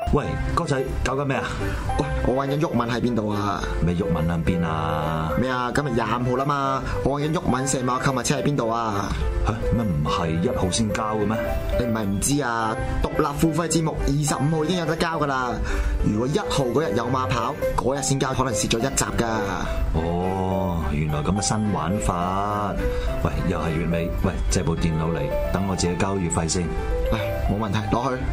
喂，哥仔搞緊咩啊？ 喂，我揾緊毓民喺邊度啊？ 咩毓民喺邊啊？ 咩啊？今日25號啦嘛，我揾緊毓民石馬購物車喺邊度啊？ 嚇乜唔係1號先交嘅咩？ 你唔係唔知啊？獨立付費節目25號已經有得交噶啦。如果1號嗰日有馬跑，嗰日先交，可能蝕咗1集噶。 哦，原來咁嘅新玩法。喂，又係月尾，喂，借部電腦嚟，等我自己交月費先。 唉，冇問題，攞去。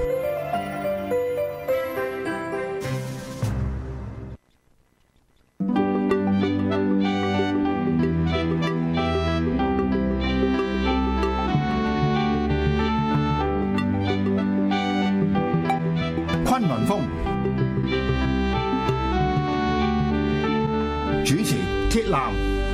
崑崙風主持鐵男。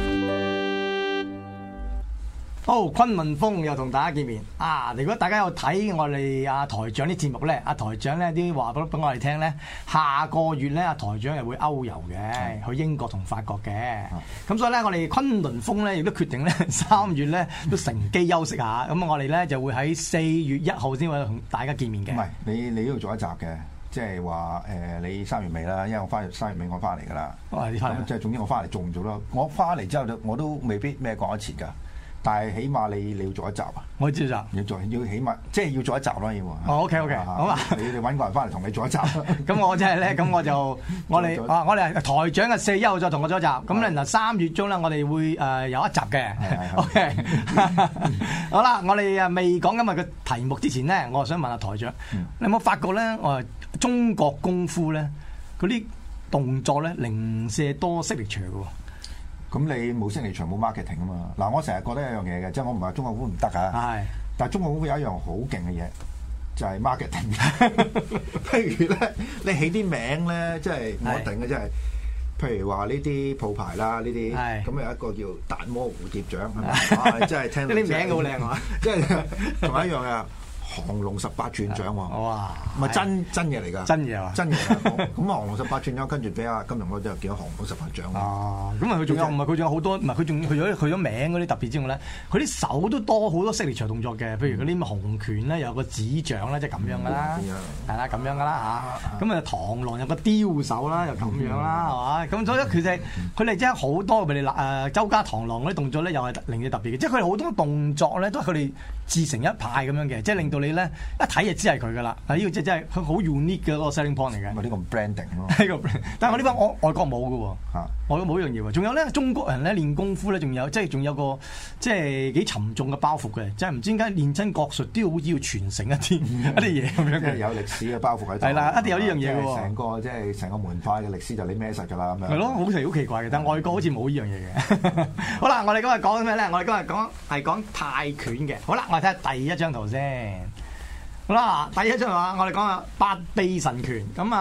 好，崑崙風又同大家見面啊！如果大家有睇我哋阿台長啲節目咧，阿台長咧啲話俾我哋聽咧，下個月咧阿台長又會歐遊嘅，去英國同法國嘅。咁所以咧，我哋崑崙風咧亦都決定咧3月咧都乘機休息下。咁我哋咧就會喺4月1號先會同大家見面嘅。 唔係你都要做一集嘅，即係話你3月尾啦，因為我3月尾我翻嚟㗎啦。 你翻嚟即係總之我翻嚟做唔做啦？我翻嚟之後我都未必咩講得切㗎。但係起碼你要做一集啊！ 我知道要起碼即係要做一集咯，要。 哦 OK， 好啊！ 你揾個人翻嚟同你做一集。 咁我即係咧，咁我哋台長嘅4月1號再同我做一集。咁咧嗱3月中咧，我哋會有一集嘅。OK， 好啦，我哋未講今日嘅題目之前咧，我想問下台長，你有冇發覺咧？中國功夫咧嗰啲動作咧零舍多signature嘅喎。 咁你冇聲嚟場冇 marketing 啊嘛？嗱，我成日覺得有樣嘢嘅，即係我唔係話中國功夫唔得啊。係，但係中國功夫有一樣好勁嘅嘢，就係 marketing。譬如咧，你起啲名咧，即係我定嘅，即係譬如話呢啲鋪牌啦，呢啲咁有一個叫達摩蝴蝶獎，係咪？真係聽到啲名好靚啊！ 即係同一樣啊！降龍18轉獎喎，哇！唔係真嘢嚟㗎， 真嘢啊！ 真嘢啊！咁降龍18轉獎，跟住俾阿金庸嗰就叫降龍18獎。 啊！咁啊，佢仲有唔係佢仲有好多，唔係佢仲去咗名嗰啲特別之外咧，佢啲手都多好多signature長動作嘅，譬如嗰啲洪拳咧，有個指掌咧，即係咁樣㗎啦，係啦，咁樣㗎啦嚇。咁啊，螳螂有個雕手啦，又咁樣啦，係嘛？咁所以其實佢哋真係好多，譬如周家螳螂嗰啲動作咧，又係令你特別嘅，即係佢哋好多動作咧，都係佢哋自成一派咁樣嘅，即係令到你咧一睇就知係佢噶啦。呢個即係真係佢好 unique 嘅嗰個 selling point 嚟嘅。 咪呢個 branding 咯。 但係我呢班外國冇嘅喎，外國冇一樣嘢喎。仲有咧，中國人咧練功夫咧，仲有個即係幾沉重嘅包袱嘅，即係唔知點解練親國術都好似要傳承一啲嘢咁樣嘅。 有歷史嘅包袱喺度。 係啦，一定有呢樣嘢嘅喎。成個門派嘅歷史就你孭實㗎啦咁樣。 係咯，好奇怪嘅，但係外國好似冇呢樣嘢嘅。好啦，我哋今日講咩咧？我哋今日講泰拳嘅。好啦，我哋睇下第一張圖先。好啦，第一張話我哋講下八臂神拳。咁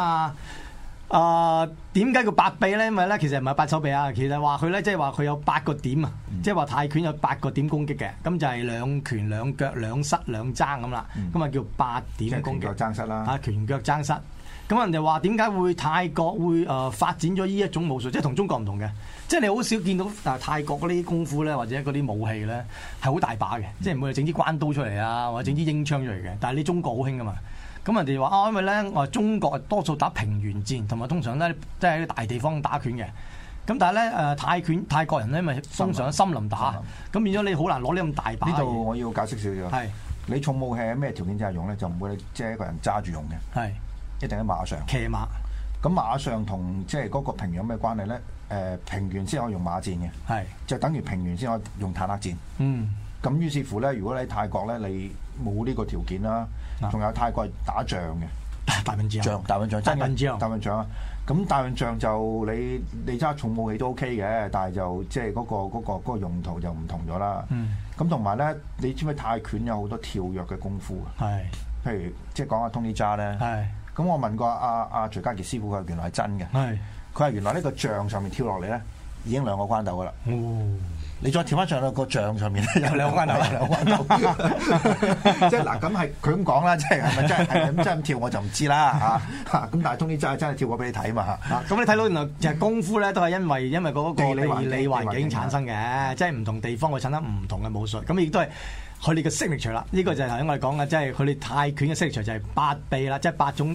點解叫八臂咧？因為咧其實唔係八手臂啊，其實話佢咧即係話佢有8個點啊，即係話泰拳有8個點攻擊嘅，咁就係兩拳兩腳兩膝兩爭咁啦，咁啊叫8點攻擊。 拳腳爭膝啦。啊， 拳腳爭膝。咁人哋話點解會泰國會發展咗呢一種武術，即係同中國唔同嘅，即係你好少見到泰國嗰啲功夫咧，或者嗰啲武器咧係好大把嘅，即係唔會整支關刀出嚟啊，或者整支英槍出嚟嘅。但係你中國好興噶嘛，咁人哋話因為咧我中國多數打平原戰，同埋通常咧即係喺大地方打拳嘅。咁但係咧泰國人咧咪通常喺森林打，咁變咗你好難攞呢咁大把。 呢度我要解釋少少。 係你重武器喺咩條件之下用咧，就唔會即係一個人揸住用嘅。係。一定喺馬上騎馬， 咁馬上同即係嗰個平原有咩關係咧？平原先可以用馬戰嘅，係就等於平原先可以用坦克戰。咁於是乎咧，如果你喺泰國咧，你冇呢個條件啦，仲有泰國係打仗嘅，大笨象，大笨象啊！咁大笨象就你揸重武器都 OK 嘅，但係就即係嗰個用途就唔同咗啦。咁同埋咧，你知唔知泰拳有好多跳躍嘅功夫啊？係，譬如即係講下 Tony Jaa 咧。係。咁我問過阿徐家傑師傅，佢原來係真嘅。係，佢係原來呢個杖上面跳落嚟咧，已經2個關鬥噶啦。你再跳翻上去個杖上面咧，有2個關鬥，2個關鬥。即係嗱，咁係佢咁講啦，即係咪真係咁真咁跳我就唔知啦嚇。咁但係Tony Jaa真係跳過俾你睇嘛嚇。咁你睇到原來就係功夫咧，都係因為嗰個地理環境產生嘅，即係唔同地方會產生唔同嘅武術。咁亦都係佢哋嘅 signature 啦，呢個就係頭先我哋講嘅，即係佢哋泰拳嘅 signature就係8臂啦，即係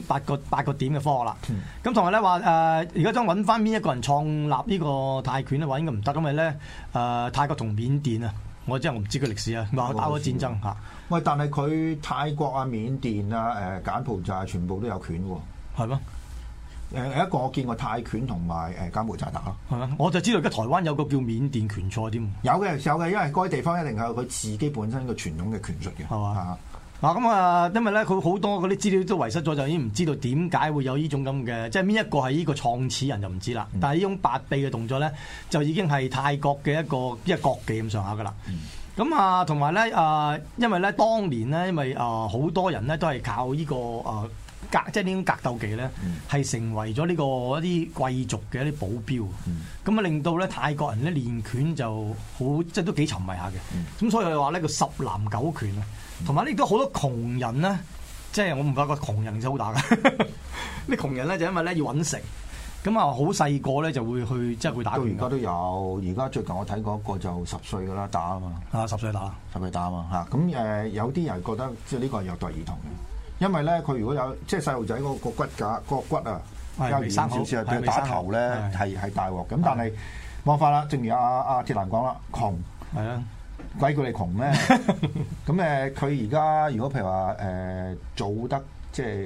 8個點嘅科學啦。咁同埋咧話而家想揾翻邊一個人創立呢個泰拳咧，話應該唔得，因為咧泰國同緬甸啊，我真係唔知佢歷史啊，話打過戰爭嚇。 喂，但係佢泰國啊、緬甸啊、柬埔寨全部都有拳喎， 係咩？ 一個我見過泰拳同埋柬埔寨打咯， 係啊，我就知道而家台灣有個叫緬甸拳賽添。 有嘅，因為嗰啲地方一定係有佢自己本身個傳統嘅拳術嘅， 係嘛？嗱咁啊，因為咧佢好多嗰啲資料都遺失咗，就已經唔知道點解會有呢種咁嘅，即係邊一個係呢個創始人就唔知啦。但係呢種8臂嘅動作咧，就已經係泰國嘅一個國技咁上下噶啦。咁啊，同埋咧因為咧當年咧，因為好多人咧都係靠呢個即係呢種格鬥技咧，係成為咗呢個一啲貴族嘅一啲保鏢。咁啊，令到咧泰國人咧練拳就好，即係都幾沉迷下嘅。咁所以佢話呢個10男9拳啊，同埋呢都好多窮人咧，即係我唔發覺窮人真係好打嘅。啲窮人咧就因為咧要揾食，咁啊好細個咧就會去即係會打拳。 到而家都有，而家最近我睇過一個就10歲噶啦打啊嘛。 10歲打 ，10歲打啊嘛嚇。咁有啲人覺得即係呢個係虐待兒童嘅。因為咧，佢如果有即係細路仔嗰個骨架、嗰個骨啊，比較軟少少，對打頭咧係大鑊。咁但係冇法啦，正如阿鐵男講啦，窮係啊，鬼叫你窮咩？咁佢而家如果譬如話做得即係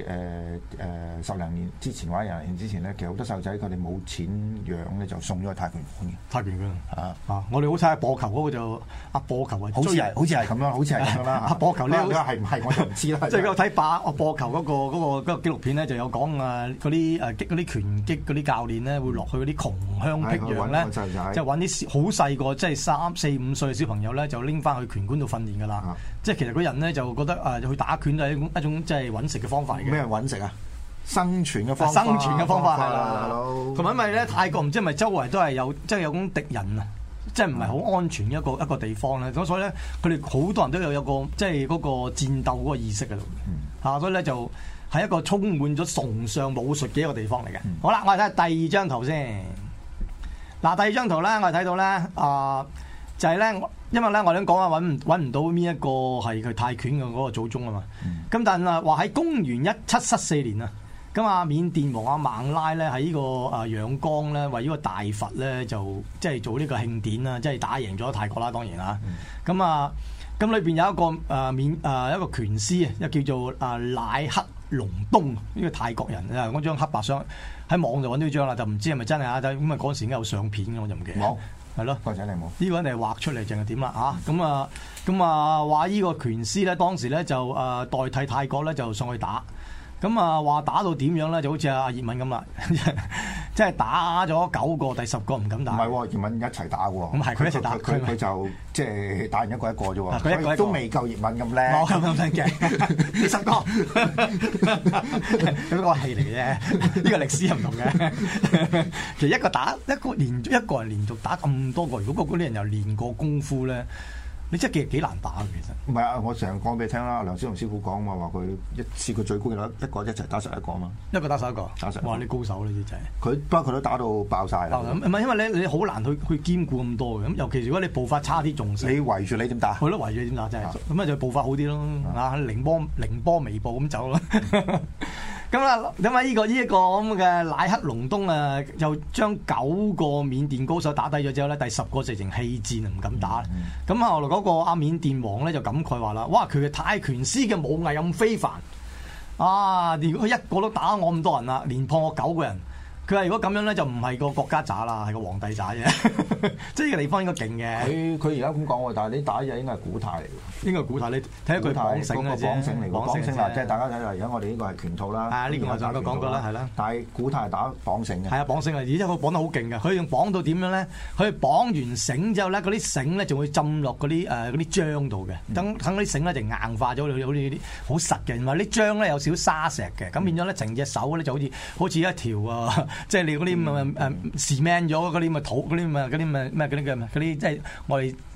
10零年之前或者20年之前咧，其實好多細路仔佢哋冇錢養咧，就送咗去泰拳館嘅。泰拳館我哋好睇下播球嗰個就播球啊， 好似係咁樣，好似係咁樣啦。 播球咧係唔係我就唔知啦。 即係我睇播球嗰個紀錄片咧，就有講嗰啲拳擊嗰啲教練咧，會落去嗰啲窮鄉僻壤咧，即係揾啲好細個，即係3、4、5歲嘅小朋友咧，就拎翻去拳館度訓練㗎啦。即係其實嗰人咧就覺得去打拳就係一種即係揾食嘅方法嚟嘅。 咩揾食啊？生存嘅方法係啦，同埋因為咧泰國唔知係咪周圍都係有即係有種敵人啊，即係唔係好安全一個地方咧，咁所以咧佢哋好多人都有個即係嗰個戰鬥嗰個意識喺度，所以咧就係一個充滿咗崇尚武術嘅一個地方嚟嘅。好啦，我哋睇下第2張圖先。嗱，第2張圖咧，我哋睇到咧就係咧，因為咧我哋講啊揾唔到邊一個係佢泰拳嘅嗰個祖宗啊嘛。咁但係話喺公元1774年啊。咁啊，緬甸王阿孟拉咧喺呢個仰光咧為呢個大佛咧就即係做呢個慶典啦，即係打贏咗泰國啦，當然啦。咁咁裏邊有一個一個拳師啊，又叫做乃克隆東呢個泰國人啊，嗰張黑白相喺網度揾到張啦，就唔知係咪真係啊？咁啊嗰陣時已經有相片嘅，我就唔記得。冇係咯，個仔你冇呢個人哋畫出嚟，淨係點啦嚇？咁話呢個拳師咧當時咧就代替泰國咧就上去打。咁話打到點樣咧？就好似阿葉問咁啦，即係打咗9個，第10個唔敢打。唔係喎，葉問一齊打喎。咁係佢一齊打，佢就即係打完一個啫喎。佢一個都未夠葉問咁叻。冇咁叻嘅，10個。咁個戲嚟嘅啫，呢個歷史又唔同嘅。其實一個人連續打咁多個，如果嗰啲人又練過功夫咧。你真係幾難打嘅，其實。唔係啊！我成日講俾你聽啦，梁小龍師傅講嘛，話佢試過最高嘅一個一齊打11個啊嘛。一個打11個。打11個。哇！你高手呢啲真係。佢不過佢都打到爆晒啦。唔係因為你好難去兼顧咁多嘅，咁尤其如果你步伐差啲仲死。你圍住你點打？佢都圍住你點打真係。咁就步伐好啲咯，凌波微步咁走咯。咁啊，咁啊，呢個咁嘅乃克隆東啊，又將9個緬甸高手打低咗之後咧，第10個直情棄戰啊，唔敢打。咁後來嗰個阿緬甸王咧就感慨話啦：，哇，佢嘅泰拳師嘅武藝咁非凡啊！如果佢一個都打我咁多人啦，連破我9個人。佢話：如果咁樣咧，就唔係個國家渣啦，係個皇帝渣啫。即係呢個地方應該勁嘅。佢而家咁講喎，但係你打嘢應該係古泰嚟嘅。應該係古泰，你睇下佢綁繩嘅啫。綁繩嚟，綁繩啦，即係大家睇下，而家我哋呢個係拳套啦。呢個我上個講過啦，係啦。但係古泰係打綁繩嘅。係啊，綁繩啊，而且佢綁得好勁嘅。佢用綁到點樣咧？佢綁完繩之後咧，嗰啲繩咧仲會浸落嗰啲漿度嘅。等嗰啲繩咧就硬化咗，好似啲好實嘅。同埋啲漿咧有少少沙石嘅，咁變咗咧成隻手咧就好似一條即係你嗰啲cement 咗嗰啲咁嘅土，嗰啲咁嘅咩即係我哋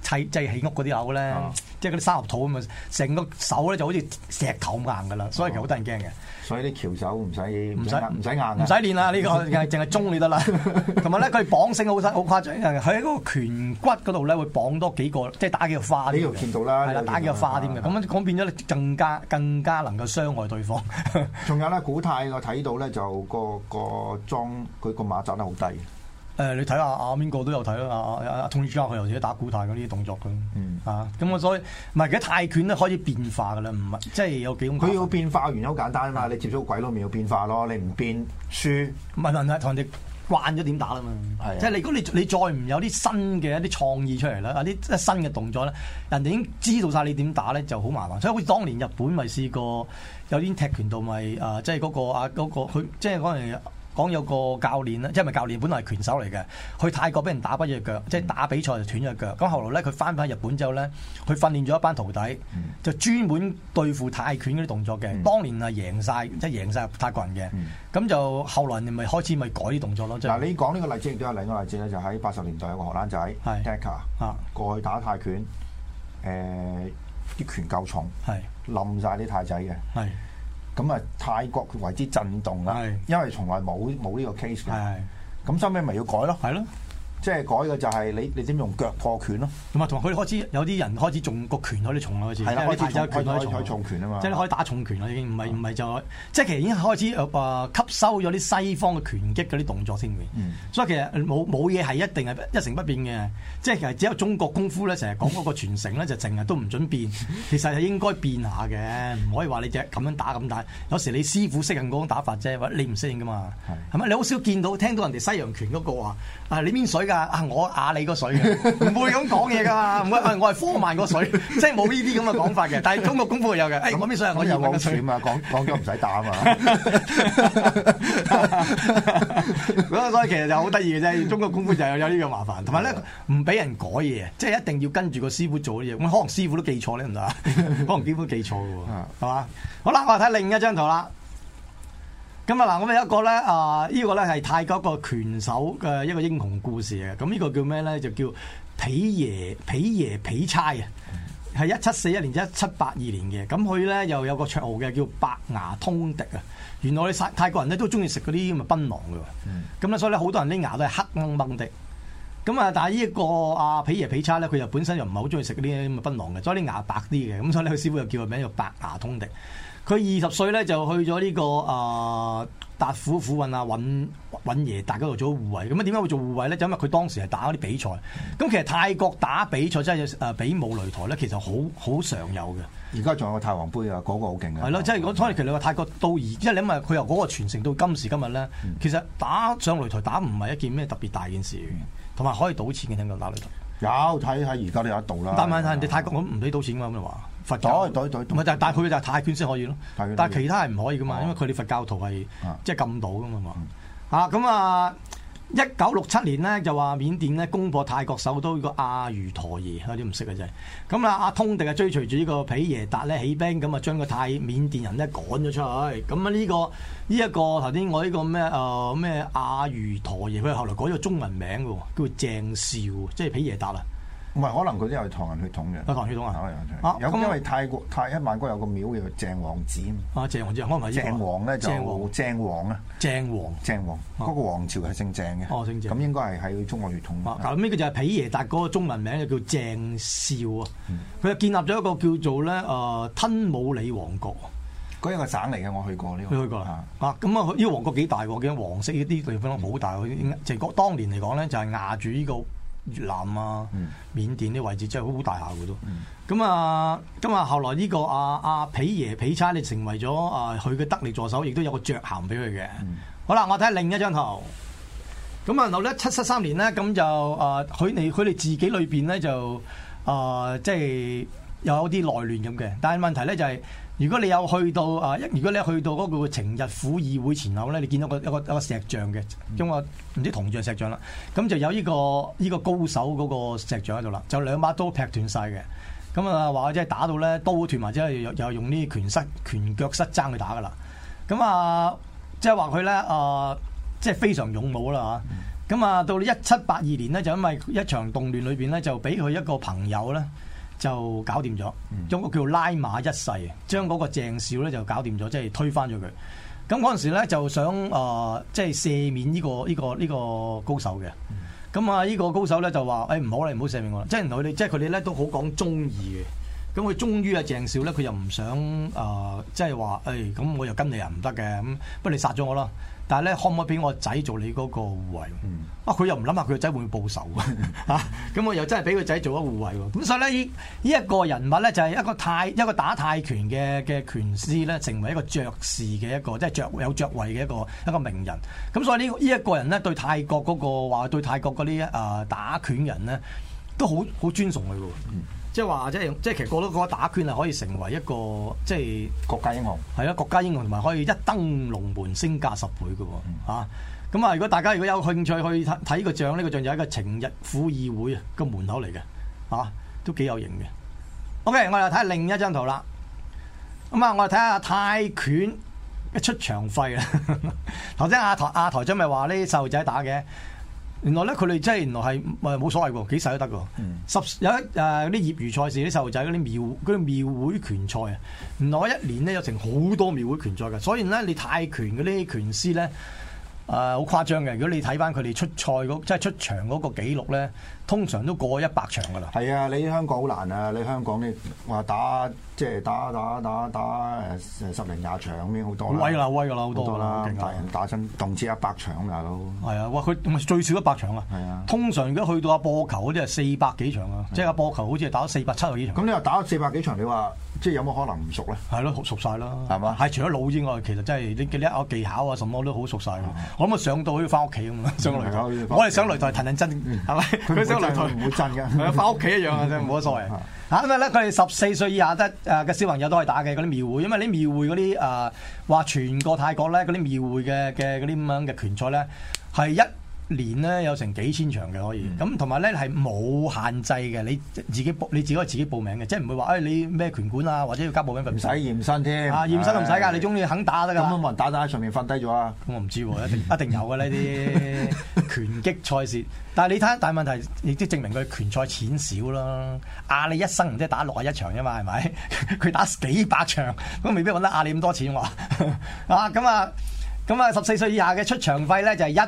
即係起屋嗰啲樓咧，即係嗰啲三合土咁啊，成個手咧就好似石頭咁硬噶啦，所以其實好得人驚嘅。 所以啲橋手唔使硬，唔使練啦，呢個淨係中你得啦。同埋咧，佢綁繩好誇張，佢喺嗰個拳骨嗰度咧會綁多幾個，即係打幾個花。 呢度見到啦， 係啦，打幾個花添嘅。咁變咗咧更加能夠傷害對方。 仲有咧，古泰我睇到咧就個裝佢個馬扎得好低。 你睇下邊個都有睇啦，阿通主教佢又自己打古泰嗰啲動作嘅，咁我所以唔係，而家泰拳咧開始變化噶啦，唔係即係有幾種。佢要變化原因好簡單啊嘛，你接觸鬼佬面要變化咯，你唔變輸。 唔係問題，同人哋慣咗點打啦嘛，即係如果你再唔有啲新嘅一啲創意出嚟啦，啲新嘅動作咧，人哋已經知道晒你點打咧，就好麻煩。所以好似當年日本咪試過有啲踢拳道咪即係嗰個佢即係嗰陣。講有個教練咧，即係咪教練本來係拳手嚟嘅，去泰國俾人打跛咗隻腳，即係打比賽就斷咗隻腳。咁後來咧，佢翻返日本之後咧，佢訓練咗一班徒弟，就專門對付泰拳嗰啲動作嘅。當年係贏晒，即係贏晒泰國人嘅。咁就後來你咪開始咪改啲動作咯。 嗱，你講呢個例子亦都有另一個例子咧，就喺80年代有個荷蘭仔 Decker 過去打泰拳，啲拳夠重，冧晒啲泰仔嘅。咁啊，泰國為之震動啦，因為從來冇呢個 case 嘅。咁收尾咪要改咯，係咯，即係改嘅就係你點用腳破拳咯。同埋佢開始有啲人開始重個拳可以重啦，開始係啦，開始重拳啊嘛，即係可以打重拳啦，已經唔係就即係其實已經開始吸收咗啲西方嘅拳擊嗰啲動作先嘅。所以其實冇嘢係一定係一成不變嘅，即係其實只有中國功夫咧，成日講嗰個傳承咧，就成日都唔準變。其實係應該變下嘅，唔可以話你只咁樣打咁打。有時你師傅適應嗰種打法啫，或者你唔適應噶嘛，係咪？你好少聽到人哋西洋拳嗰個話你邊水㗎？我你個水嘅，唔會咁講嘢㗎嘛，唔會我係科曼個水，即係冇呢啲咁嘅講法嘅。但係中國功夫有嘅，我邊水我有個水嘛，講咗唔使打啊嘛。所以其實就好得意嘅啫，中國功夫就有呢個麻煩，同埋咧唔俾人改嘢，即係一定要跟住個師傅做啲嘢。咁可能師傅都記錯咧，唔得啊？可能師傅記錯嘅喎，係嘛？好啦，我睇另一張圖啦。咁啊嗱，咁有一個咧呢個咧係泰國一個拳手嘅一個英雄故事嘅。咁呢個叫咩咧？就叫皮耶皮差啊，係1741年至1782年嘅。咁佢咧又有個綽號嘅叫白牙通敵啊。原來泰國人咧都中意食嗰啲咁嘅檳榔嘅。咁咧所以咧好多人啲牙都係黑掹掹的。咁啊，但係呢一個皮耶皮差咧，佢又本身又唔係好中意食嗰啲咁嘅檳榔嘅，所以啲牙白啲嘅。咁所以咧佢師傅又叫佢名叫白牙通敵。佢20歲咧就去咗呢個達府府尹尹耶達嗰度做護衛。咁啊點解會做護衛咧？就因為佢當時係打嗰啲比賽。咁其實泰國打比賽真係比武擂台咧，其實好常有嘅。而家仲有個泰皇杯啊，嗰個好勁啊！係咯，即係如果其實你話泰國到即係你因為佢由嗰個傳承到今時今日咧，其實打上擂台打唔係一件咩特別大件事嘅，同埋可以賭錢嘅，聽講打擂台。有睇而家都有得賭啦。但係人哋泰國咁唔俾賭錢㗎嘛，咁你話？佛教對，唔係但係佢就係泰拳先可以咯，但係其他係唔可以噶嘛，因為佢哋佛教徒係即係禁賭噶嘛。咁1967年咧就話緬甸咧攻破泰國首都個阿瑜陀耶，有啲唔識嘅真係。咁阿通敵啊追隨住呢個皮耶達咧起兵，咁啊將個緬甸人咧趕咗出去。咁啊呢一個頭先我呢個咩阿瑜陀耶，佢後來改咗中文名嘅喎，叫做鄭少，即係皮耶達啊。唔係，可能佢都有唐人血統嘅。唐人血統啊！有因為泰一萬國有個廟叫鄭王寺啊。鄭王寺，可能係鄭王咧就鄭王啊。鄭王嗰個王朝係姓鄭嘅。哦，姓鄭。咁應該係喺中國血統。咁呢個就係皮耶達嗰個中文名就叫鄭少啊。佢就建立咗一個叫做咧吞武里王國。嗰一個省嚟嘅，我去過呢個。你去過啦？咁啊，呢個王國幾大喎？見黃色呢啲地方好大。即係當年嚟講咧，就係壓住呢個越南啊、緬甸啲位置真係好大下嘅都。咁啊，後來呢個皮耶皮差你成為咗佢嘅得力助手，亦都有個爵銜俾佢嘅。好啦，我睇下另一張圖。咁啊，然後咧773年咧，咁就佢哋自己裏邊咧就即係有啲內亂咁嘅。但係問題咧就係，如果你有去到嗰個晴日府議會前後咧，你見到一個石像嘅，咁我唔知銅像石像啦，咁就有呢個高手嗰個石像喺度啦，就兩把刀劈斷晒嘅，咁啊話即係打到咧刀斷埋之後，又用呢啲拳腳失爭去打噶啦，咁即係話佢咧即係非常勇武啦嚇。 咁啊，到1782年咧，就因為一場動亂裏邊咧，就俾佢一個朋友咧就搞掂咗，將個叫拉馬一世，將嗰個鄭少咧就搞掂咗，即係推翻咗佢。咁嗰陣時咧就想即係赦免呢個高手嘅。咁啊，呢個高手咧就話：唔好啦，唔好赦免我啦。即係佢哋咧都好講忠義嘅。咁佢終於啊鄭少咧，佢又唔想即係話咁我又跟你又唔得嘅，咁不如你殺咗我啦。但係咧，可唔可以俾我仔做你嗰個護衛？佢又唔諗下佢個仔會唔會報仇啊？咁我又真係俾個仔做咗護衛喎。咁所以咧，呢一個人物咧就係一個打泰拳嘅拳師咧，成為一個爵士嘅一個即係有爵位嘅一個名人。咁所以呢一個人咧對泰國嗰個話對泰國嗰啲打拳人咧都好尊崇佢嘅。即係話，即係其實個都覺得打拳係可以成為一個即係國家英雄， 係啊，國家英雄同埋可以一登龍門升價10倍嘅喎。咁啊，如果大家如果有興趣去睇呢個像，呢個像就係一個情日府議會個門口嚟嘅，都幾有型嘅。OK， 我哋睇下另一張圖啦。咁啊，我哋睇下泰拳嘅出場費啦。頭先阿台長咪話呢啲細路仔打嘅。原來咧，佢哋真係原來係冇所謂喎，幾細都得喎。有啲業餘賽事啲細路仔嗰啲廟會拳賽啊，原來一年咧有成好多廟會拳賽嘅，所以咧你泰拳嗰啲拳師咧好誇張嘅。如果你睇翻佢哋出賽即係出場嗰個紀錄咧，通常都過100場㗎啦。係啊，你香港好難啊！你香港你話打即係打10零20場已經好多啦，威㗎啦，好多啦，大人打親動輒100場大佬。係啊，哇！佢最少100場啊。係啊，通常如果去到播球嗰啲係400幾場啊，即係播球好似係打咗470幾場。咁你話打咗400幾場，你話即係有冇可能唔熟咧？係咯，熟晒啦，係嘛？ 係除咗腦之外，其實真係你嘅技巧啊，什麼都好熟晒。我諗上到好似翻屋企咁啊，上擂台，我哋上擂台騰騰震，係咪？佢上擂台唔會震㗎， 係啊，翻屋企一樣啊，真係冇乜所謂。因為咧，佢哋14歲以下嘅小朋友都可以打嘅嗰啲廟會，因為啲廟會嗰啲話全個泰國咧嗰啲廟會嘅嗰啲咁樣嘅拳賽咧係一年咧有成幾千場嘅可以，咁同埋咧係冇限制嘅，你自己可以自己報名嘅，即係唔會話你咩拳館啊或者要交報名費，唔使驗身添驗身都唔使㗎，你中意肯打得㗎。 咁冇人打喺上面瞓低咗啊？ 咁我唔知喎，一定有嘅呢啲拳擊賽事。但係你睇，但係問題亦都證明佢拳賽錢少啦。你一生唔知打61場啫嘛，係咪？佢打幾百場，咁未必揾得你咁多錢喎。咁啊14歲以下嘅出場費咧就係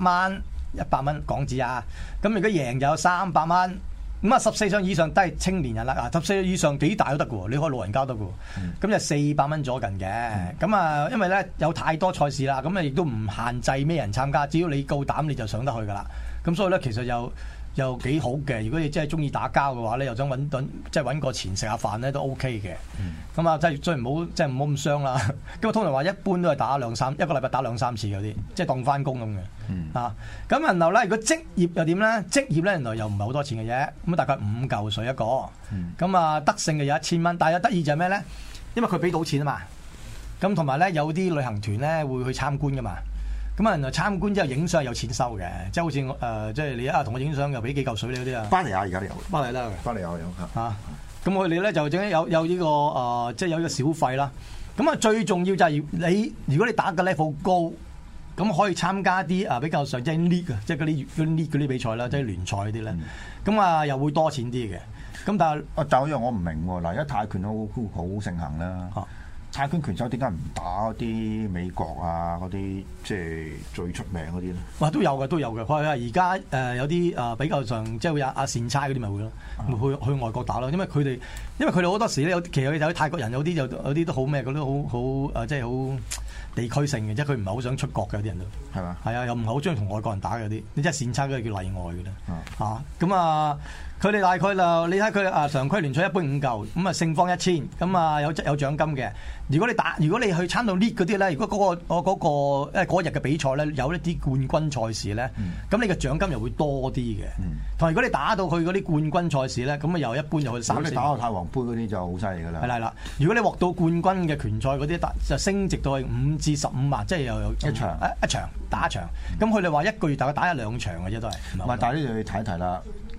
100蚊港紙啊。咁如果贏就有300蚊。咁啊14歲以上都係青年人啦。14歲以上幾大都得嘅喎，你可以老人家都得嘅喎。咁就400蚊左近嘅。咁因為咧有太多賽事啦，咁亦都唔限制咩人參加，只要你夠膽你就上得去㗎啦。咁所以咧，其實又幾好嘅。如果你真係中意打交嘅話咧，又想即係揾個錢食下飯咧，都 OK 嘅。咁啊，即係唔好咁傷啦。咁通常話一般都係打一個禮拜打2-3次嗰啲，即係當翻工咁嘅。咁然後咧，如果職業又點咧？職業咧原來又唔係好多錢嘅啫。咁大概5嚿水一個。咁啊，得勝嘅有1000蚊。但係有得意就係咩咧？因為佢俾到錢啊嘛。咁同埋咧，有啲旅行團咧會去參觀噶嘛。咁啊，原來參觀之後影相有錢收嘅，即係好似即係你同我影相又俾幾嚿水你嗰啲啊。 翻嚟啊！而家都有。翻嚟啦， 翻嚟有嚇。咁我哋咧就整有呢個即係有呢個小費啦。咁啊，最重要就係如果你打嘅 level 高，咁可以參加啲比較上即係 league 啊，即係嗰啲嗰啲比賽啦，即係聯賽嗰啲咧。咁啊，又會多錢啲嘅。咁但係但係我唔明喎。嗱，而家泰拳都好盛行啦。泰拳拳手點解唔打嗰啲美國啊嗰啲即係最出名嗰啲咧？哇， 都有嘅。佢話而家有啲比較上即係會有阿善差嗰啲咪會咯，去外國打咯。因為佢哋好多時咧其實有啲泰國人有啲都好咩，嗰啲好即係好地區性嘅，即係佢唔係好想出國嘅，有啲人都係嘛？係啊，又唔係好中意同外國人打嘅啲，你即係善差嗰啲叫例外嘅啦。咁啊。佢哋大概就你睇佢常規聯賽一般5嚿，咁啊勝方1000，咁啊有獎金嘅。如果你去參到 league 嗰啲咧，如果嗰日嘅比賽咧有一啲冠軍賽事咧，咁你嘅獎金又會多啲嘅。同埋如果你打到去嗰啲冠軍賽事咧，咁啊又一般又去3-4。如果你打到太皇杯嗰啲就好犀利㗎啦。 係啦，如果你獲到冠軍嘅拳賽嗰啲，就升值到去5至15萬，即係又有一場打一場。咁佢哋話1個月大概打1-2場嘅啫，都係。 唔係，但係呢度要睇一睇啦。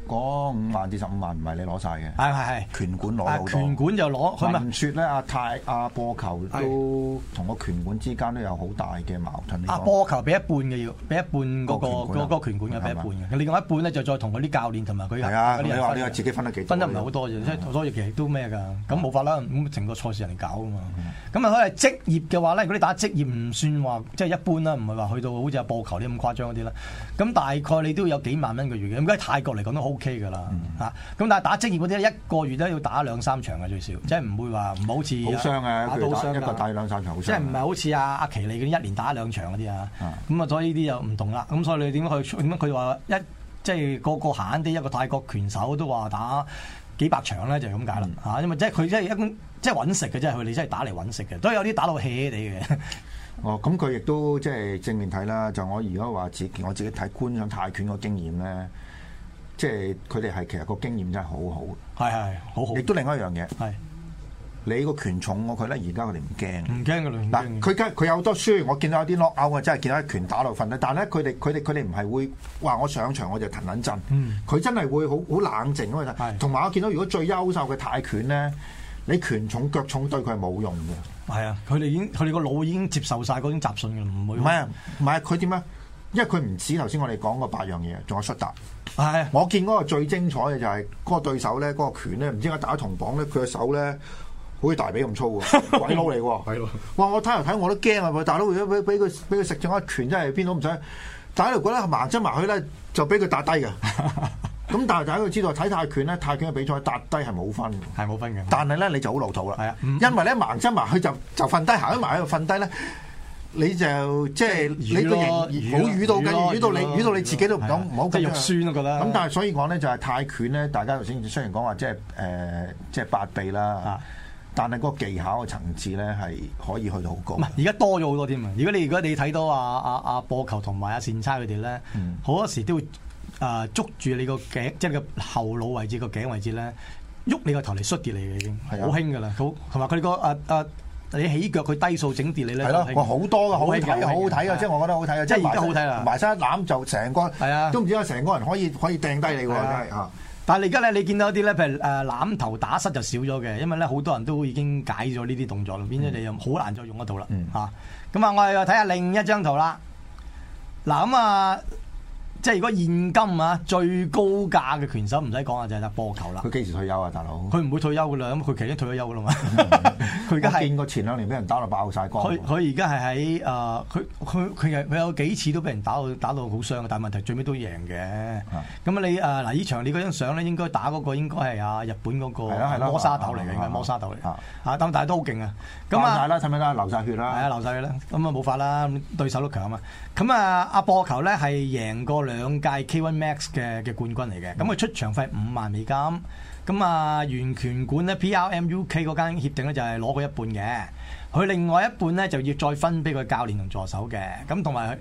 嗰5萬至15萬唔係你攞晒嘅， 係拳館攞好多。 拳館就攞，佢聞説咧，阿波球都同個拳館之間都有好大嘅矛盾。 阿波球俾一半嘅要，俾一半嗰個拳館嘅俾一半嘅，另外一半咧就再同嗰啲教練同埋佢係啊，你話自己分得幾多？ 分得唔係好多啫，即係所以其實都咩㗎？咁冇法啦，咁成個賽事人哋搞啊嘛。咁啊，可能職業嘅話咧，如果你打職業唔算話即係一般啦，唔係話去到好似阿波球啲咁誇張嗰啲啦。咁大概你都要有幾萬蚊個月嘅，咁喺泰國嚟講都 OK 㗎啦嚇。咁但係打職業嗰啲一個月都要打2-3場嘅最少，即係唔會話唔好似好傷啊！ 打到傷一個打2-3場好傷， 即係唔係好似阿奇利嗰啲1年打1-2場嗰啲啊？咁啊，所以呢啲又唔同啦。咁所以你點解佢話即係個閒閒啲一個泰國拳手都話打幾百場咧，就係咁解啦嚇。因為即係佢即係揾食嘅，即係佢哋真係打嚟揾食嘅，都有啲打到 hea 地嘅。 哦，咁佢亦都即係正面睇啦。就我如果話我自己睇觀賞泰拳個經驗咧，即係佢哋係其實個經驗真係好好， 係好好。 亦都另外一樣嘢係你個拳重過佢咧，而家佢哋唔驚， 唔驚㗎啦。 嗱，佢有好多輸，我見到有啲 knock out 啊，真係見到一拳打落瞓低。但係咧，佢哋唔係會話我上場我就騰撚震，佢真係會好冷靜咁去。同埋我見到如果最優秀嘅泰拳咧，你拳重腳重對佢係冇用嘅。 係啊，佢哋個腦已經接受晒嗰種雜訊嘅，唔會。 唔係佢點啊？因為佢唔止頭先我哋講嗰8樣嘢，仲有摔打。 係， 我見嗰個最精彩嘅就係嗰個對手咧，嗰個拳咧，唔知點解打銅磅咧，佢嘅手咧好似大髀咁粗喎，鬼佬嚟喎。係咯。哇！我睇我都驚啊！大佬如果俾佢食咗一拳，真係邊度唔使。但係喺度覺得盲側埋去咧，就俾佢打低嘅。咁但係大家要知道睇泰拳咧，泰拳嘅比賽打低係冇分嘅， 係冇分嘅。 但係咧你就好老土啦， 係啊， 因為咧盲側埋去就瞓低，行咗埋喺度瞓低咧，你就即係你個型好瘀到嘅，瘀到你自己都唔好即係肉酸咯覺得。 咁但係所以講咧就係泰拳咧，大家頭先雖然講話即係8臂啦，但係嗰個技巧嘅層次咧係可以去到好高。 而家多咗好多添啊！如果你睇到阿波球同埋阿善差佢哋咧，好多時都會捉住你個頸，即係個後腦位置個頸位置咧，喐你個頭嚟摔跌你嘅已經，好興噶啦。好同埋佢個你起腳佢低數整跌你咧， 係咯，哇好多噶，好睇嘅，好好睇嘅，即係我覺得好睇嘅， 即係而家好睇啦。 埋身一攬就成個，都唔知點解成個人可以掟低你喎，真係嚇。但係而家咧，你見到啲咧，譬如攬頭打膝就少咗嘅，因為咧好多人都已經解咗呢啲動作啦，變咗你又好難再用得到啦嚇。咁啊，我哋又睇下另一張圖啦。嗱咁啊。即係如果現今啊最高價嘅拳手唔使講啊，就係打波球啦。 佢幾時退休啊，大佬？ 佢唔會退休噶啦，咁佢其實已經退咗休噶啦嘛。佢而家係見過前2年俾人打到爆晒光。 佢而家係喺佢有幾次都俾人打到好傷嘅，但係問題最尾都贏嘅。咁你嗱呢場你嗰張相咧，應該打嗰個應該係日本嗰個摩沙豆嚟嘅，應該摩沙豆嚟。但係都好勁啊！咁啊， 睇唔睇得流晒血啦？ 係啊，流晒血啦。咁啊冇法啦，對手都強啊嘛。咁啊，阿波球咧係贏過2屆 K1 Max 嘅冠軍嚟嘅，咁佢出場費5萬美金，咁啊原拳館咧 PRMUK 嗰間協定咧就係攞佢一半嘅，佢另外一半咧就要再分俾佢教練同助手嘅，咁同埋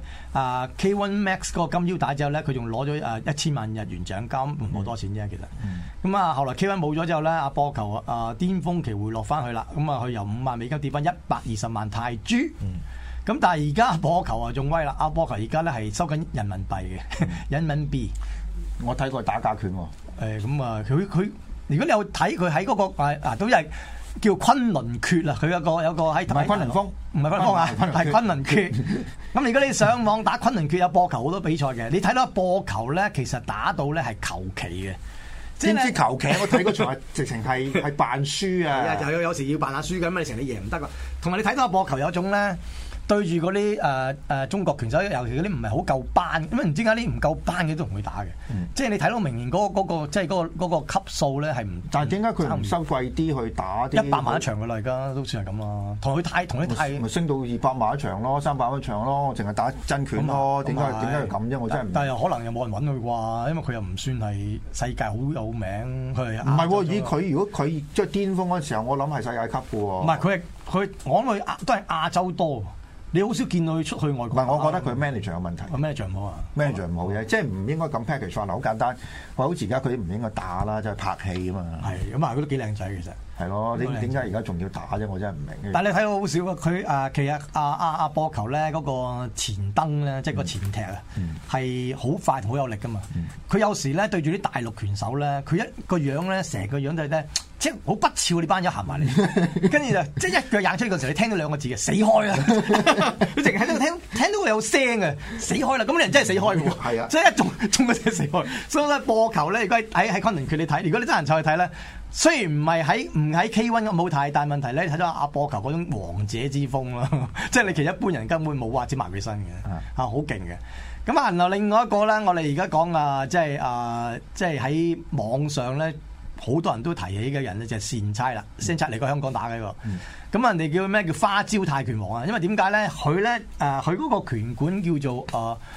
K1 Max 嗰個金腰帶之後咧，佢仲攞咗1000萬日元獎金，唔好多錢啫其實，咁啊後來 K1 冇咗之後咧，阿波球巔峰期回落翻去啦，咁啊佢由5萬美金跌翻120萬泰銖。咁但係而家波球啊仲威啦！阿波球而家咧係收緊人民幣嘅人民幣。 我睇過打假拳喎。 咁啊，佢如果你有睇佢喺嗰個都係叫昆侖決啊！佢有個喺唔係昆侖峰， 唔係昆侖峰啊，係昆侖決。咁如果你上網打昆侖決有波球好多比賽嘅，你睇到波球咧，其實打到咧係求其嘅。 點知求其？我睇嗰場係直情係扮輸啊！ 有時要扮下輸嘅，咁你成日贏唔得噶。同埋你睇到波球有一種咧。對住嗰啲中國拳手，尤其嗰啲唔係好夠班，咁唔知點解啲唔夠班嘅都同佢打嘅，即係你睇到明顯嗰個即係嗰個級數咧係唔， 但係點解佢唔收貴啲去打啲 100萬一場嘅啦？而家都算係咁啦，同佢太咪升到200萬一場咯，300萬一場咯，淨係打真拳咯，點解要咁啫？我真係但係又可能又冇人揾佢啩，因為佢又唔算係世界好有名，佢係唔係喎？以佢如果佢即係巔峯嗰陣時候，我諗係世界級嘅喎。 唔係佢我諗佢都係亞洲多。 你好少見到佢出去外國。 唔係，我覺得佢 manager 有問題。 manager 唔好啊 ，manager 唔好嘅，即係唔應該咁 package 化。嗱，好簡單，好似而家佢唔應該打啦，即係拍戲啊嘛。 係咁啊，佢都幾靚仔其實。 係咯，點解而家仲要打啫？我真係唔明。 但係你睇到好少啊！佢其實阿波球咧嗰個前蹬咧，即係個前踢啊，係好快好有力噶嘛。佢有時咧對住啲大陸拳手咧，佢一個樣咧，成個樣就係咧，即係好不肖你班友行埋嚟，跟住就即係一腳踹出嘅時候，你聽到兩個字嘅死開啦！佢淨係喺度聽到佢有聲嘅死開啦！咁你人真係死開嘅喎，係啊，即係一中嗰隻死開。所以咧波球咧，如果喺昆崙拳你睇，如果你真人湊去睇咧。雖然唔喺 K1 咁好睇，但係問題咧，你睇到阿波球嗰種王者之風咯，即係你其實一般人根本冇話接埋佢身嘅，好勁嘅。咁啊，然後另外一個咧，我哋而家講即係喺網上咧，好多人都提起嘅人咧，就係善差啦，善差嚟過香港打嘅一個。咁人哋叫咩？叫花招泰拳王啊！因為點解咧？佢咧佢嗰個拳館叫做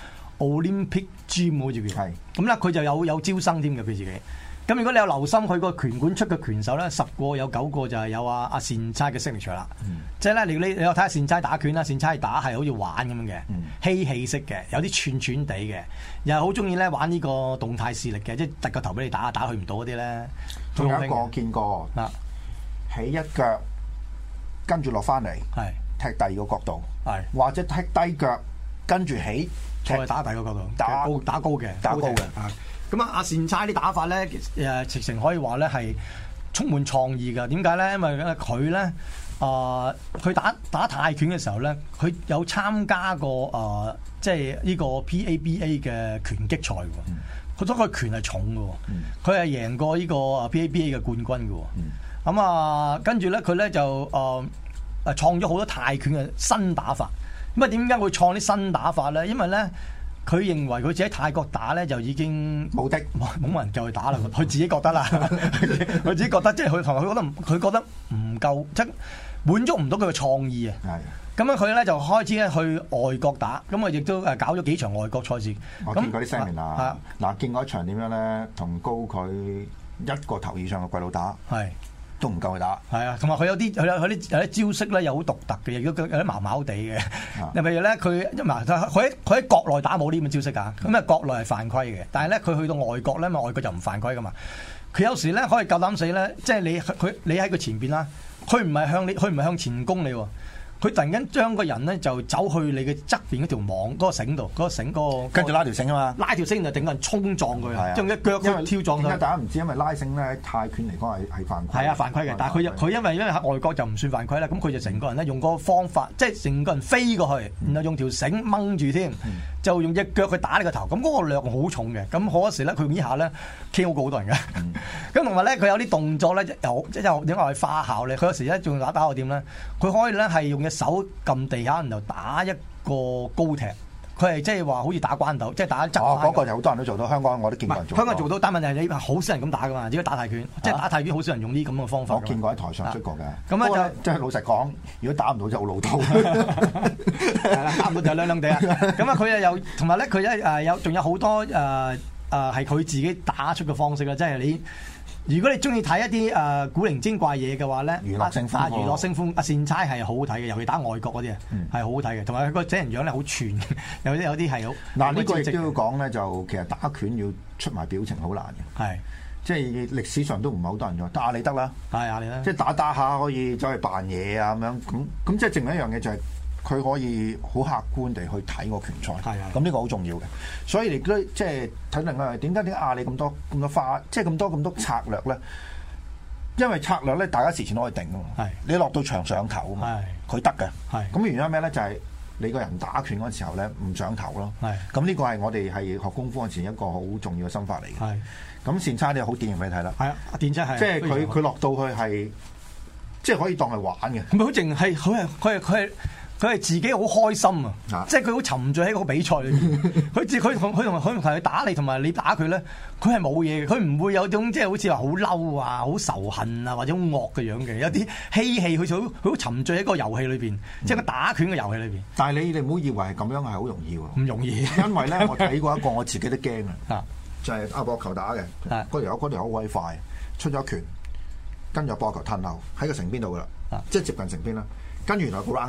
Olympic Gym 好似叫，咁咧佢就有招生添嘅佢自己。咁如果你有留心佢個拳館出嘅拳手咧，10個有9個就係有阿善差嘅 signature 啦。即係咧，你有睇下善差打拳啦，善差打係好似玩咁樣嘅，嬉戲式嘅，有啲串串地嘅，又係好中意咧玩呢個動態視力嘅，即係突個頭俾你打去唔到嗰啲咧。 仲有一個我見過，起一腳跟住落翻嚟，踢第二個角度，或者踢低腳跟住起， 再打第二個角度，打高嘅。咁啊，阿善差啲打法咧，直情可以話咧係充滿創意㗎。點解咧？因為佢咧，佢打泰拳嘅時候咧，佢有參加過即係呢個 PABA 嘅拳擊賽喎。佢嗰個拳係重嘅，佢係贏過呢個 PABA 嘅冠軍嘅。咁啊，跟住咧，佢咧就創咗好多泰拳嘅新打法。咁啊，點解會創啲新打法咧？因為咧。佢認為佢自己喺泰國打咧就已經冇人夠佢打啦，佢自己覺得啦，佢自己覺得即係佢同埋佢覺得唔夠，即係滿足唔到佢嘅創意啊。咁樣佢咧就開始咧去外國打，咁啊亦都搞咗幾場外國賽事。 我見過啲 seminar，嗱見過一場點樣咧，同高佢一個頭以上嘅鬼佬打。都唔夠佢打， 係啊，同埋佢有啲招式咧，又好獨特嘅，亦都有啲毛毛地嘅。例如咧，佢喺國內打冇呢咁嘅招式㗎，咁啊國內係犯規嘅，但係咧佢去到外國咧，外國就唔犯規㗎嘛。佢有時咧可以夠膽死咧，即係你喺佢前邊啦，佢唔係向前攻你喎。佢突然間將個人咧就走去你嘅側邊嗰條網嗰個繩度，嗰個繩跟住拉條繩啊嘛， 拉條繩就頂個人衝撞佢，將一腳跳撞佢。 點解大家唔知？因為拉繩咧喺泰拳嚟講係犯規。 係啊，犯規嘅。但係佢因為喺外國就唔算犯規啦，咁佢就成個人咧用嗰個方法，即係成個人飛過去，然後用條繩掹住添，就用隻腳去打你個頭。咁嗰個量好重嘅，咁好多時咧佢呢下咧 KO 過好多人嘅。咁同埋咧佢有啲動作咧又點解係花巧咧？佢有時咧仲打我點咧？佢可以咧係用手撳地下，然後打一個高踢，佢係即係話好似打關鬥，即係打一側。 嗰個就好多人都做到，香港我都見過人做。 香港做到，但問題係你好少人咁打噶嘛，只要打泰拳，即係打泰拳好少人用呢咁嘅方法。 我見過喺台上出過嘅。 咁咧即係老實講，如果打唔到就好老土。 係啦，打唔到就兩地啊。咁啊，佢又同埋咧，佢仲有好多係佢自己打出嘅方式啦，即係你。如果你中意睇一啲古靈精怪嘢嘅話咧，娛樂性風阿善差係好好睇嘅，尤其打外國嗰啲係好好睇嘅，同埋佢個整人樣咧好串，有啲係好。 嗱呢個亦都要講咧，就其實打拳要出埋表情好難嘅，係即係歷史上都唔係好多人做，但阿里得啦，係阿里啦，即係打下可以走去扮嘢啊咁樣，咁即係證明一樣嘢就係。佢可以好客觀地去睇個拳賽，咁呢個好重要嘅。所以你都即係睇另外點解阿里咁多花，即係咁多策略咧？因為策略咧，大家事前都可以定噶嘛。你落到場上頭啊嘛，佢得嘅。咁原因咩咧？就係你個人打拳嗰時候咧，唔上頭咯。咁呢個係我哋係學功夫嗰時一個好重要嘅心法嚟嘅。咁善差你好典型俾你睇啦。係啊，電差係。即係佢落到去係，即係可以當係玩嘅。 唔係好淨係佢係自己好開心啊！即係佢好沉醉喺個比賽裏面。佢同佢打你，同埋你打佢咧，佢係冇嘢嘅。佢唔會有種即係好似話好嬲啊、好仇恨啊或者好惡嘅樣嘅。有啲嬉戲，佢好沉醉喺個遊戲裏邊，即係個打拳嘅遊戲裏邊。 但係你唔好以為係咁樣係好容易喎。 唔容易， 因為咧我睇過一個我自己都驚啊！就係阿博球打嘅，嗰條好鬼快，出咗拳，跟住阿博球褪後喺個城邊度噶啦，即係接近城邊啦。跟住原來個 roundhouse。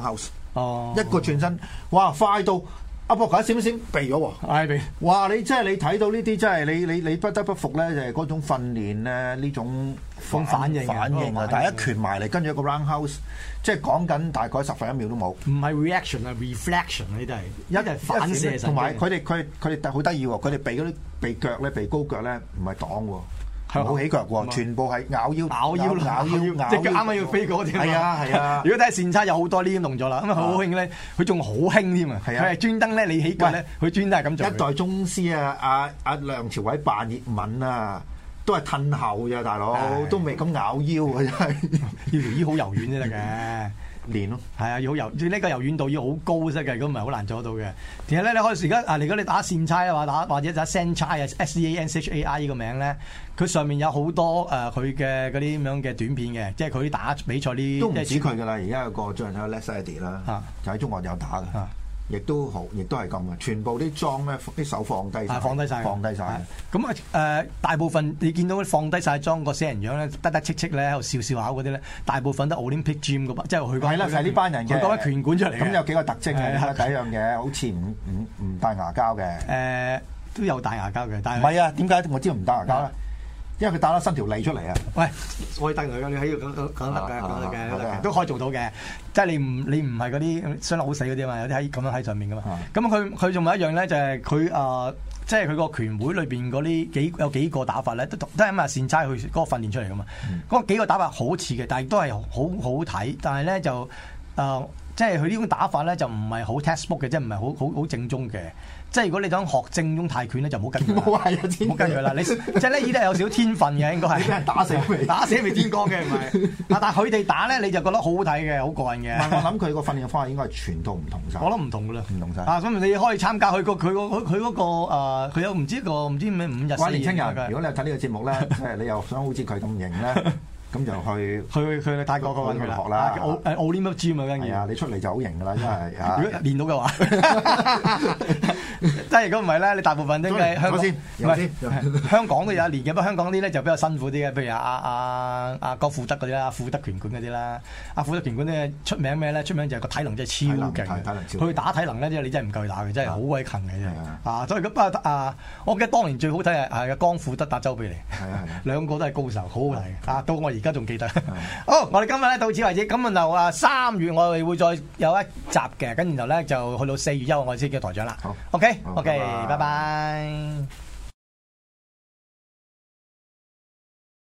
哦，一個轉身，哇，快到阿博卡閃一閃避咗喎， 係避。 哇！你真係你睇到呢啲，真係你不得不服咧，就係嗰種訓練咧，呢種反應啊！但係一拳埋嚟，跟住一個 roundhouse， 即係講緊大概10分1秒都冇。 唔係 reaction 啊 reflection 呢啲係一係反射。 同埋佢哋好得意喎，佢哋避嗰啲避腳咧，避高腳咧，唔係擋喎。冇起腳喎，全部係咬腰，即係啱啱要飛嗰啲。係啊！如果睇線差有好多呢啲動作啦，咁啊好興咧，佢仲好興添啊！佢係專登咧，你起腳咧，佢專登係咁做。一代宗師啊，阿梁朝偉扮葉問啊，都係褪後咋大佬，都未咁咬腰啊！真係要條腰好柔軟先得嘅。練咯，係啊，要好柔，呢個柔軟度要好高色嘅，如果唔係好難做得到嘅。其實咧，你可以而家如果你打線差啊，打或者打 Saenchai 啊 SEANCHAI 呢個名咧，佢上面有好多佢嘅嗰啲咁樣嘅短片嘅，即係佢打比賽啲都唔止佢噶啦。而家有個最近有 Les Eddie 啦，就喺中國有打嘅。亦都係咁嘅，全部啲裝咧，啲手放低晒，放低晒。咁大部分你見到放低晒裝個死人樣咧，得戚咧喺度笑笑口嗰啲咧，大部分都 Olympic Gym 嗰班，即係佢係啦，就係呢班人嘅。佢嗰班拳館出嚟。咁有幾個特徵嘅，第一樣嘢好似唔戴牙膠嘅。都有戴牙膠嘅，但係唔係啊？點解我知道唔戴牙膠咧？因為佢打得伸條脷出嚟啊！喂，可以戴佢，你喺度講得嘅，都可以做到嘅。即係你唔係嗰啲傷得好死嗰啲嘛，有啲喺咁樣喺上面噶嘛。咁佢仲有一樣咧，就係佢即係佢個拳會裏邊嗰啲有幾個打法咧，都係咁啊線差去嗰個訓練出嚟噶嘛。嗰幾個打法好似嘅，但係都係好睇。但係咧就即係佢呢種打法咧就唔係好 textbook 嘅，即係唔係好正宗嘅。即係如果你想學正宗泰拳咧，就唔好跟佢。唔好跟佢啦！你即係呢啲係有少少天分嘅，應該係。你俾人打死未天光嘅，唔係。但係佢哋打咧，你就覺得好好睇嘅，好過癮嘅。我諗佢個訓練方法應該係全套唔同晒。我諗唔同噶啦，唔同晒。咁你可以參加佢嗰個佢有唔知咩5日。關年青人，如果你睇呢個節目咧，即係你又想好似佢咁型咧。咁就去泰國嗰邊學啦。Olympic Gym 啊，跟住係啊，你出嚟就好型噶啦，因為如果練到嘅話，即係如果唔係咧，你大部分都係香港先，唔係香港都有練嘅，不過香港啲咧就比較辛苦啲嘅，譬如阿郭富德嗰啲啦，富德拳館嗰啲啦，阿富德拳館咧出名咩咧？出名就係個體能真係超勁，佢打體能咧，即係你真係唔夠佢打嘅，真係好鬼勤嘅真係。所以咁我記得當年最好睇係江富德打周比利，兩個都係高手，好好睇到我而家仲記得。好，我哋今日咧到此為止。咁就3月我哋會再有一集嘅，跟然後咧就去到4月1號我哋先叫台長啦。好 OK，拜拜。